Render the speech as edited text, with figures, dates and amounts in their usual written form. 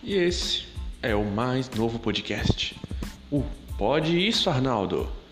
E esse é o mais novo podcast. O Pode Isso, Arnaldo!